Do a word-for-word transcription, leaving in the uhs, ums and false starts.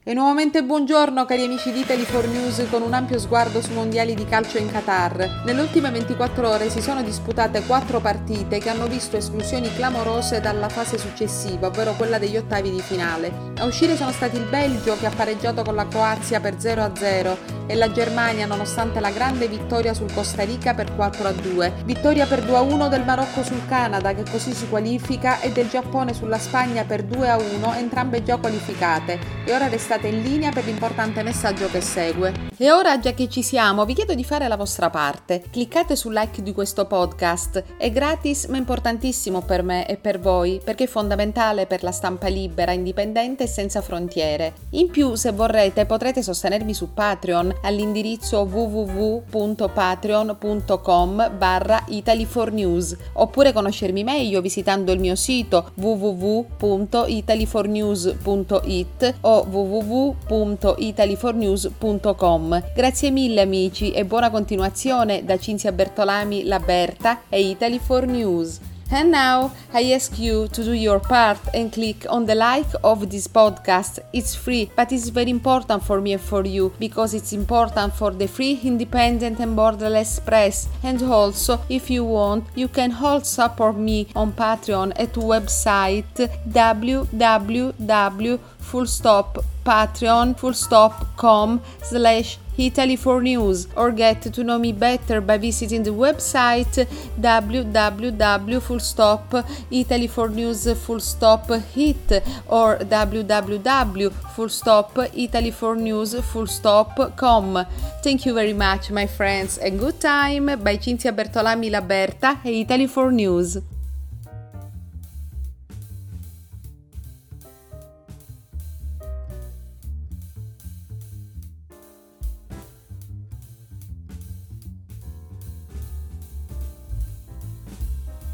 E nuovamente buongiorno cari amici di Italy four News con un ampio sguardo sui mondiali di calcio in Qatar. Nelle ultime ventiquattro ore si sono disputate quattro partite che hanno visto esclusioni clamorose dalla fase successiva, ovvero quella degli ottavi di finale. A uscire sono stati il Belgio che ha pareggiato con la Croazia per zero a zero e la Germania nonostante la grande vittoria sul Costa Rica per quattro a due. Vittoria per due a uno del Marocco sul Canada che così si qualifica e del Giappone sulla Spagna per due a uno, entrambe già qualificate. E ora restate in linea per l'importante messaggio che segue. E ora, già che ci siamo, vi chiedo di fare la vostra parte. Cliccate sul like di questo podcast. È gratis ma importantissimo per me e per voi, perché è fondamentale per la stampa libera, indipendente e senza frontiere. In più, se vorrete, potrete sostenermi su Patreon all'indirizzo w w w punto patreon punto com barra Italy four News, oppure conoscermi meglio visitando il mio sito w w w punto italy four news punto i t o w w w punto italy four news punto com. Grazie mille amici e buona continuazione da Cinzia Bertolami, la Berta e Italy four News. And now I ask you to do your part and click on the like of this podcast. It's free, but it's very important for me and for you because it's important for the free, independent and borderless press. And also, if you want, you can also support me on Patreon at website w w w full stop patreon full stop com slash Italy four News, or get to know me better by visiting the website w w w full stop italy four news full stop hit or w w w full stop italy four news full stop com. Thank you very much my friends and good time by Cinzia Bertolami, la Berta e Italy four News.